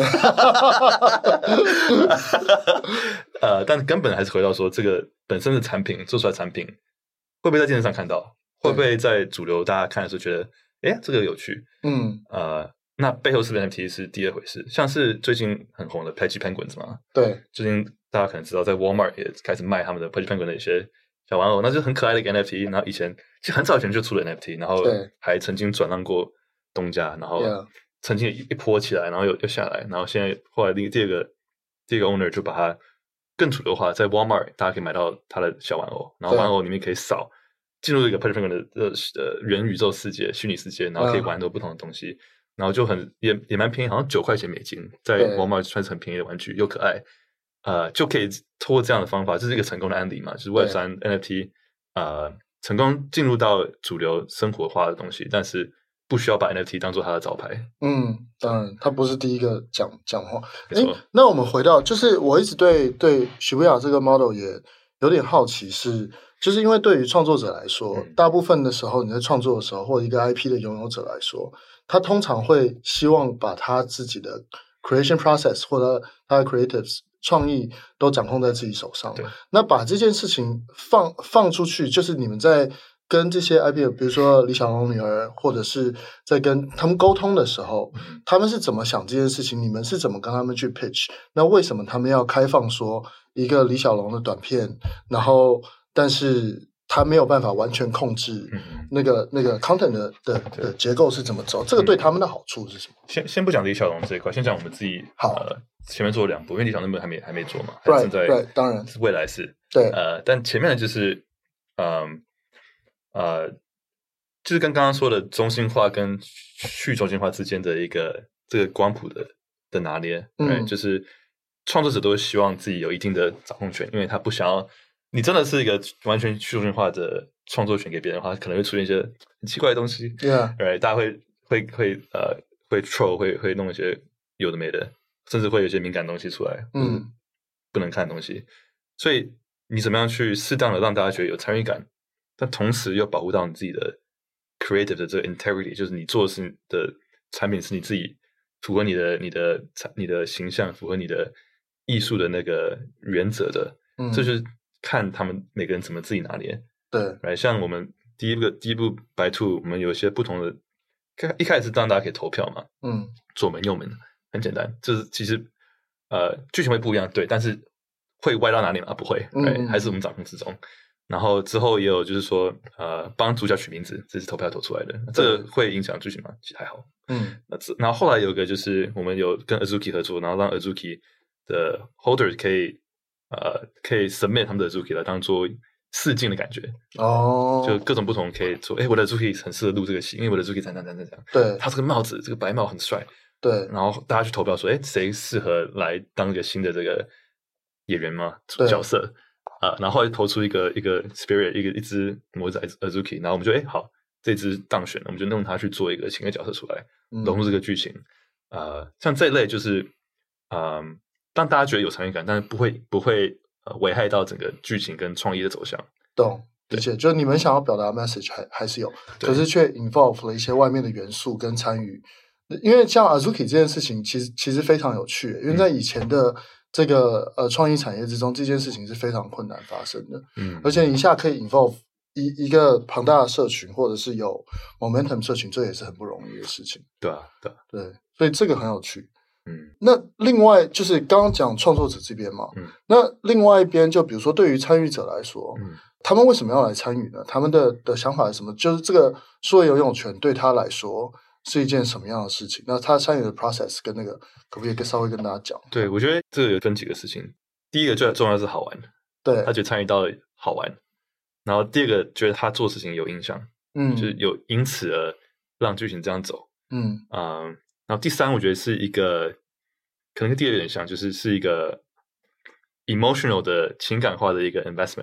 呃，但根本還是回到說，這個本身的產品做出來的產品會不會在電視上看到，會不會在主流大家看的時候覺得，哎，這個有趣，嗯，呃，那背後是不是 N F T 是第二回事。像是最近很紅的 Pudgy Penguins 嘛，對，最近大家可能知道，在 Walmart 也開始賣他們的 Pudgy Penguins 的一些小玩偶，那就是很可愛的一個 N F T。然後以前其實很早以前就出了 N F T， 然後還曾經轉讓過東家，然後。曾經一波起來，然後又又下來，然後現在後來第第二個第二個 owner 就把它更主流化，在 Walmart 大家可以買到它的小玩偶，然後玩偶裡面可以掃進入一個 Pudgy Penguins 的呃元宇宙世界、虛擬世界，然後可以玩很多不同的東西，嗯、然後就很也也蠻便宜，好像九塊錢美金，在 Walmart 算是很便宜的玩具，又可愛，呃，就可以通過這樣的方法，這是一個成功的案例嘛，就是 Web 三 N F T 呃成功進入到主流生活化的東西，但是。不需要把 N F T 當做它的招牌。嗯， 當然，他不是第一個講講話。誒，那我們回到，就是我一直對對 Shibuya 這個 model 也有點好奇是，是就是因為對於創作者來說，嗯、大部分的時候你在創作的時候，或者一個 I P 的擁有者來說，他通常會希望把他自己的 creation process 或者他的 creatives 創意都掌控在自己手上。對，那把這件事情放放出去，就是你們在。跟這些 I P， 比如說李小龍女兒，或者是在跟他們溝通的時候，嗯、他們是怎麼想這件事情？你們是怎麼跟他們去 pitch？那為什麼他們要開放說一個李小龍的短片？然後，但是他沒有辦法完全控制那個、嗯、那個 content 的的的結構是怎麼走？這個對他們的好處是什麼？ 先先不講李小龍這一塊，先講我們自己。好，呃、前面做了兩部，因為李小龍那部還沒還沒做嘛，還正在 right, right, 當然未來是對呃，但前面的就是嗯。呃，就是跟剛剛說的中心化跟去中心化之間的一個這個光譜的的拿捏，嗯，right? 就是創作者都希望自己有一定的掌控權，因為他不想要你真的是一個完全去中心化的創作權給別人的話，可能會出現一些很奇怪的東西，Yeah，right? 大家會會會呃會 troll 會會弄一些有的沒的，甚至會有一些敏感的東西出來，嗯，不能看的東西，所以你怎麼樣去適當的讓大家覺得有參與感？但同時又保護到你自己的 creative 的這個 integrity， 就是你做的是的產品是你自己符合你的你的你的形象，符合你的藝術的那個原則的，嗯，這就是看他們每個人怎麼自己拿捏。對，來像我們第一個第一部白兔，我們有一些不同的，一開始是讓大家可以投票嘛，嗯，左門右門很簡單，就是其實呃劇情會不一樣，對，但是會歪到哪裡嗎？不會，嗯嗯，還是我們掌控之中。然後之後也有就是說，呃，幫主角取名字，這是投票投出來的，這個會影響劇情嗎？其實還好。嗯，那然後後來有一個就是我們有跟 Azuki 合作，然後讓 Azuki 的 holders 可以呃可以 submit 他們的 Azuki 來當做試鏡的感覺。哦，就各種不同可以做。哎，我的 Azuki 很適合錄這個戲，因為我的 Azuki 怎樣怎樣怎樣。對，他這個帽子，這個白帽很帥。對，然後大家去投票說，哎，誰適合來當一個新的這個演員嗎？角色。啊，然後後來投出一個一個 spirit， 一個一隻模子 Azuki， 然後我們就哎好，這隻當選了，我們就用它去做一個新的角色出來，融入這個劇情。嗯、呃，像這一類就是，嗯、呃，讓大家覺得有參與感，但是不會不會呃危害到整個劇情跟創意的走向。懂，而且就你們想要表達的 message 還還是有，可是卻 involve 了一些外面的元素跟參與。因為像 Azuki 這件事情，其實其實非常有趣，因為在以前的。嗯這個呃，創意產業之中，這件事情是非常困難發生的。嗯，而且你一下可以 involve 一一個龐大的社群，或者是有 momentum 社群，這也是很不容易的事情。對啊，對對，所以這個很有趣。嗯，那另外就是剛剛講創作者這邊嘛，嗯，那另外一邊就比如說對於參與者來說，嗯，他們為什麼要來參與呢？他們的的想法是什麼？就是這個數位擁有權對他來說是一件什麼樣的事情？那他參與的 process 跟那個可不可以稍微跟大家講？對，我覺得這個有分幾個事情。第一個最重要的是好玩，對，他覺得參與到好玩。然後第二個覺得他做事情有印象，嗯，就是有因此而讓劇情這樣走，嗯啊、嗯。然後第三，我覺得是一個可能跟第二個有點像，就是是一個 emotional 的情感化的一個 investment。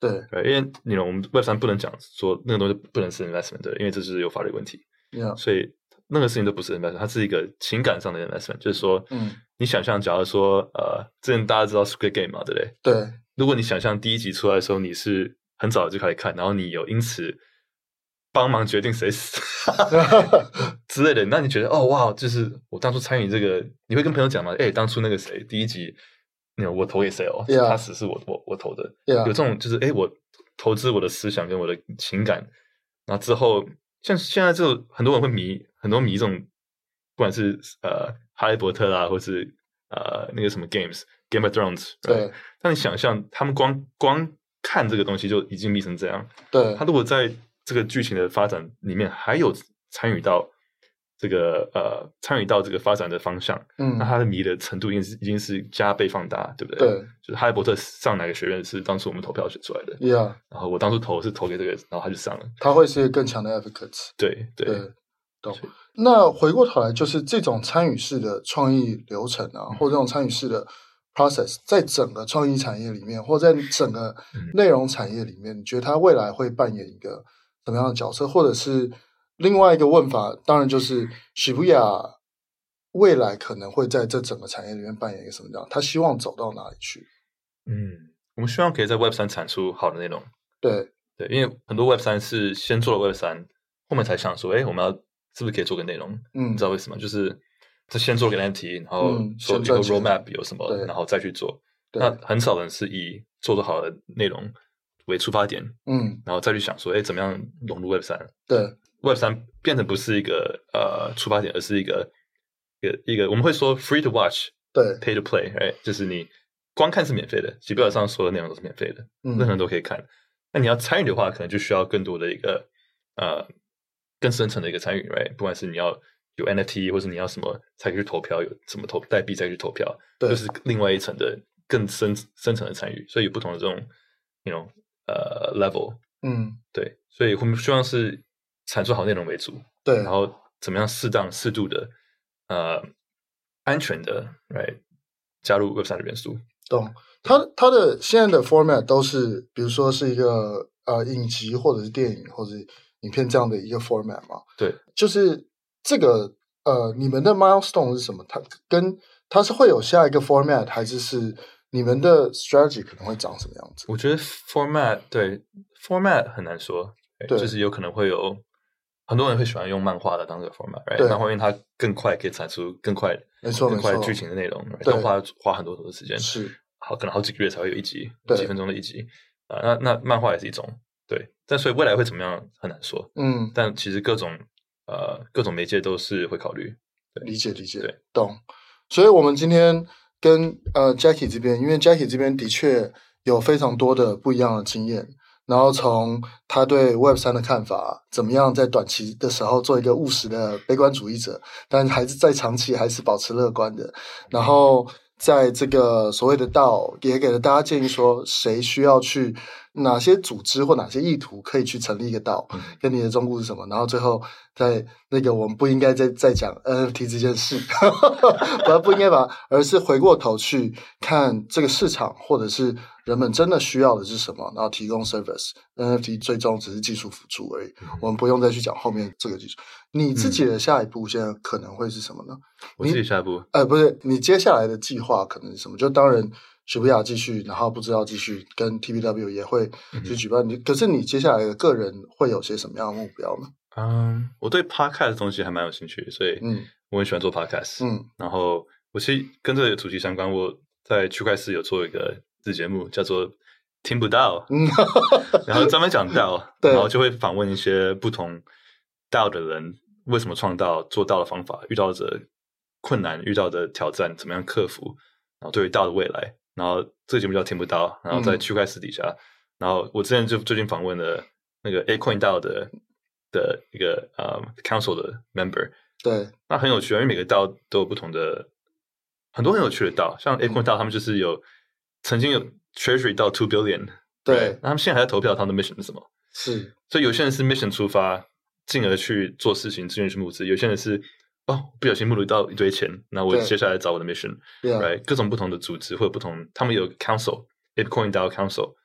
對， 對，因為你 you know, 我們 Web 三不能講說那個東西不能是 investment 的，因為這是有法律問題。 Yeah. 所以那個事情都不是 investment， 它是一個情感上的 investment， 就是說，嗯，你想象，假如說，呃，之前大家知道 Squid Game 嘛，對不對？ 對。 如果你想象第一集出來的時候，你是很早就開始看，然後你有因此幫忙決定誰死之類的，那你覺得哦哇，就是我當初參與這個，你會跟朋友講嗎？哎，當初那個誰第一集，你我投給誰哦？ Yeah. 他死是我我我投的。 Yeah. 有這種就是哎，我投資我的思想跟我的情感，然後之後。像現在就很多人會迷，很多迷這種，不管是呃哈利波特啦，或是呃那個什麼 games，Game of Thrones， 對。 但你想象他們光光看這個東西就已經迷成這樣， 對。 他如果在這個劇情的發展裡面還有參與到這個呃參與到這個發展的方向，嗯，那他的迷的程度已經是已經是加倍放大，對不對？對。就是哈利波特上哪個學院是當初我們投票選出來的 ，Yeah。然後我當初投是投給這個，然後他就上了。 他會是一個更強的 advocate。 對對對，懂。那回過頭來，就是這種參與式的創意流程啊，嗯、或這種參與式的 process，在整個創意產業裡面，或在整個內容產業裡面，嗯、你覺得他未來會扮演一個什麼樣的角色？或者是另外一個問法，當然就是 Shibuya 未來可能會在這整個產業裡面扮演一個什麼樣？他希望走到哪裡去？ 嗯，我們希望可以在 Web 三產出好的內容。 對對，因為很多 Web 三是先做了 Web 三，後面才想說，哎，我們要是不是可以做個內容？嗯，你知道為什麼？就是是先做個 N F T， 然後說一個 roadmap 有什麼，嗯、然後再去做。那很少人是以做得好的內容為出發點，嗯，然後再去想說，哎，怎麼樣融入 Web 三？ 對 ，Web 三變成不是一個呃出發點，而是一個一個一個我們會說 free to watch， 對 ，pay to play，right？ 就是你。光看是免費的，基本上所有內容都是免費的，嗯、任何人都可以看。那你要參與的話，可能就需要更多的一個呃更深層的一個參與 ，right？ 不管是你要有 N F T， 或是你要什麼才可以去投票，有什麼投代幣才可以去投票，就是另外一層的更深深層的參與。所以有不同的這種，you know，呃 level， 嗯，對。所以我們希望是產出好內容為主， 對， 然後怎麼樣適當適度的呃安全的 ，right？ 加入 Web 三的元素。 懂，它它的現在的 format 都是，比如說是一個呃影集或者是電影或者是影片這樣的一個 format 嘛？ 對， 就是這個呃，你們的 milestone 是什麼？它跟它是會有下一個 format，還是是你們的 strategy 可能會長什麼樣子？ 我覺得 format 對 format 很難說，對，就是有可能會有很多人會喜歡用漫畫的當這個 format，right？ 對，漫畫因為它更快可以產出更快。 沒錯， 更快劇情的內容，要花花很多很多時間， 是好，可能好幾個月才會有一集，幾分鐘的一集啊、呃。那那漫畫也是一種，對，但所以未來會怎麼樣很難說，嗯，但其實各種呃各種媒介都是會考慮，對， 理解理解， 對， 懂。所以我們今天跟呃 Jackie 這邊，因為 Jackie 這邊的確有非常多的不一樣的經驗。然後從他對 Web 三的看法，怎麼樣在短期的時候做一個務實的悲觀主義者，但還是在長期還是保持樂觀的。然後在這個所謂的DAO，也給了大家建議說，誰需要去哪些組織或哪些意圖可以去成立一個DAO，跟你的忠告是什麼？然後最後在那個我們不應該再再講 N F T 這件事，不不應該把，而是回過頭去看這個市場或者是。人們真的需要的是什麼？然後提供 service，N F T 最終只是技術輔助而已，嗯、我們不用再去講後面這個技術。你自己的下一步現在可能會是什麼呢？ 我自己下一步， 呃，不是，你接下來的計劃可能是什麼？就當然，Shibuya繼續，然後不知道繼續跟 T B W 也會去舉辦。嗯、可是你接下來的個人會有些什麼樣的目標呢？ 嗯，我對 podcast 的東西還蠻有興趣，所以嗯，我很喜歡做 podcast。嗯，然後我其實跟這個主題相關，我在區塊市有做一個。這節目叫做聽不到，然後專門講DAO，然後就會訪問一些不同DAO的人，為什麼創DAO、做DAO的方法、遇到的困難、遇到的挑戰，怎麼樣克服，然後對於DAO的未來。然後這個節目叫聽不到，然後在區塊市底下，嗯、然後我之前就最近訪問了那個 Acoin DAO 的的一個呃、um, Council 的 member，對，那很有趣啊，因為每個DAO都有不同的很多很有趣的DAO，像 Acoin DAO 他們就是有。曾經有 treasury 到 two billion， 對，那他們現在還在投票，他們的 mission 是什麼？是，所以有些人是 mission 出發，進而去做事情，自願去募資；有些人是哦，不小心募了到一堆錢，那我接下來找我的 mission，right？各種不同的組織或者不同，他們有 council，Acoin DAO Council，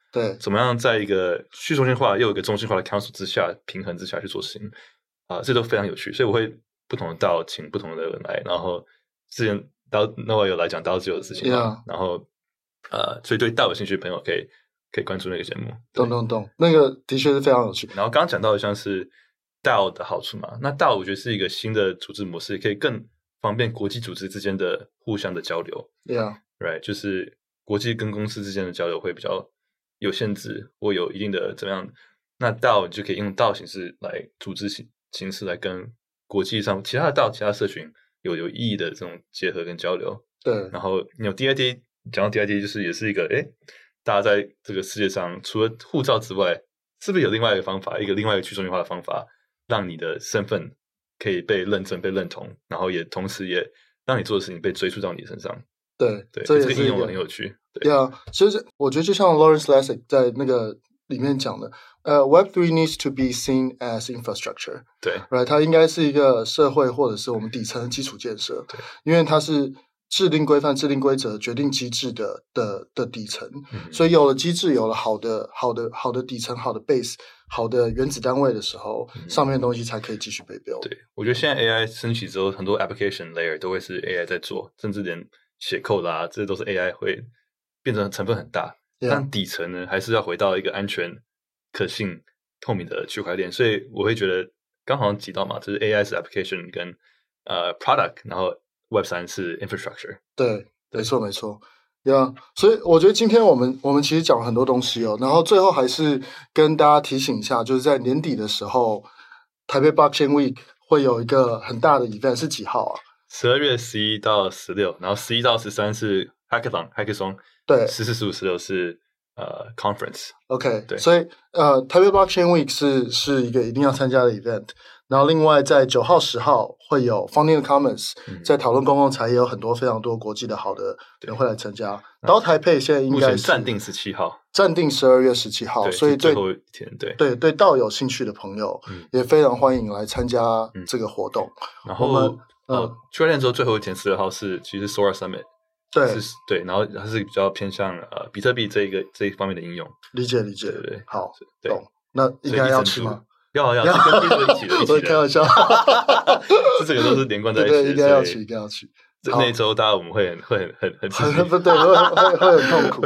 對， 怎麼樣在一個去中心化又有一個中心化的 council 之下平衡之下去做事情啊、呃，這都非常有趣。所以我會不同的DAO請不同的人來，然後之前 DAO Noah 有來講 DAO 自由的事情嘛， yeah. 然後呃，所以對DAO有興趣的朋友可以可以關注那個節目。 懂懂懂，那個的確是非常有趣。 然後剛剛講到的像是 DAO 的好處嘛，那 DAO 我覺得是一個新的組織模式，可以更方便國際組織之間的互相的交流。 Yeah，right， 就是國際跟公司之間的交流會比較有限制，或有一定的怎麼樣？那 DAO 你就可以用 DAO 形式來組織形形式來跟國際上其他的 DAO、其他社群有有意義的這種結合跟交流。 對， 然後你有 D I D， 講到 D I D 就是也是一個誒，大家在這個世界上除了護照之外，是不是有另外一個方法，一個另外一個去中心化的方法，讓你的身份可以被認證、被認同，然後也同時也讓你做的事情被追溯到你身上。 對對， 這也是這個應用很有趣。 對啊，其實我覺得就像 Lawrence Lessig 在那個裡面講的，呃、uh, ，Web three needs to be seen as infrastructure。 對 ，right， 它應該是一個社會或者是我們底層的基礎建設。 對， 因為它是制定規範、制定規則、決定機制的的的底層， 嗯， 所以有了機制，有了好的、好的、好的底層、好的 base、好的原子單位的時候，嗯，上面的東西才可以繼續被 build。對， 我覺得現在 A I 升級之後，很多 application layer 都會是 A I 在做，甚至連寫 code 啦，這些都是 A I 會變成成分很大。Yeah. 但底層呢，還是要回到一個安全、可信、透明的區塊鏈。所以我會覺得，剛好提到嘛，就是 A I 是 application 跟呃 product，然後 Web 三是 infrastructure。 對，沒錯沒錯。Yeah， 所以我覺得今天我們我們其實講了很多東西哦，然後最後還是跟大家提醒一下，就是在年底的時候，台北 Blockchain Week 會有一個很大的 event，是幾號啊？ 十二月十一到十六，然後十一到十三是 Hackathon Hackathon， 對，十四、十五、十六是呃 Conference。OK， 對， 所以呃台北 Blockchain Week 是是一個一定要參加的 event。然後另外在九號、十號會有 Founding the Commons，嗯，在討論公共財也有很多非常多國際的好的人會來參加。然後台北現在應該是暫定十七號， 暫定十二月十七號，所以對最後一天，對對對DAO有興趣的朋友，嗯，也非常歡迎來參加這個活動。嗯， 然後我們呃，區塊鏈之後最後一天十二號是其實 Sora Summit， 對是，對，然後它是比較偏向呃比特幣這一個這一方面的應用。理解理解，對對，好，懂。那應該要去嗎？要要，是跟 Peter 一起的，一起的。我開玩笑，這整個都是連貫在一起的。對，應該要去，應該要去。那一周，大家我們會很會很很很很不對，會會會很痛苦。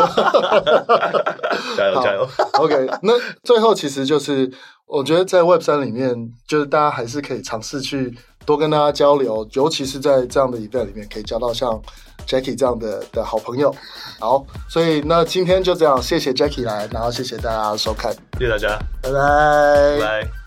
加油加油 ！OK， 那最後其實就是，我覺得在 Web 三裡面，就是大家還是可以嘗試去多跟大家交流，尤其是在這樣的 event 裡面，可以交到像 Jackie 這樣的的好朋友。好，所以那今天就這樣，謝謝 Jackie 來，然後謝謝大家收看，謝謝大家，拜拜，拜拜。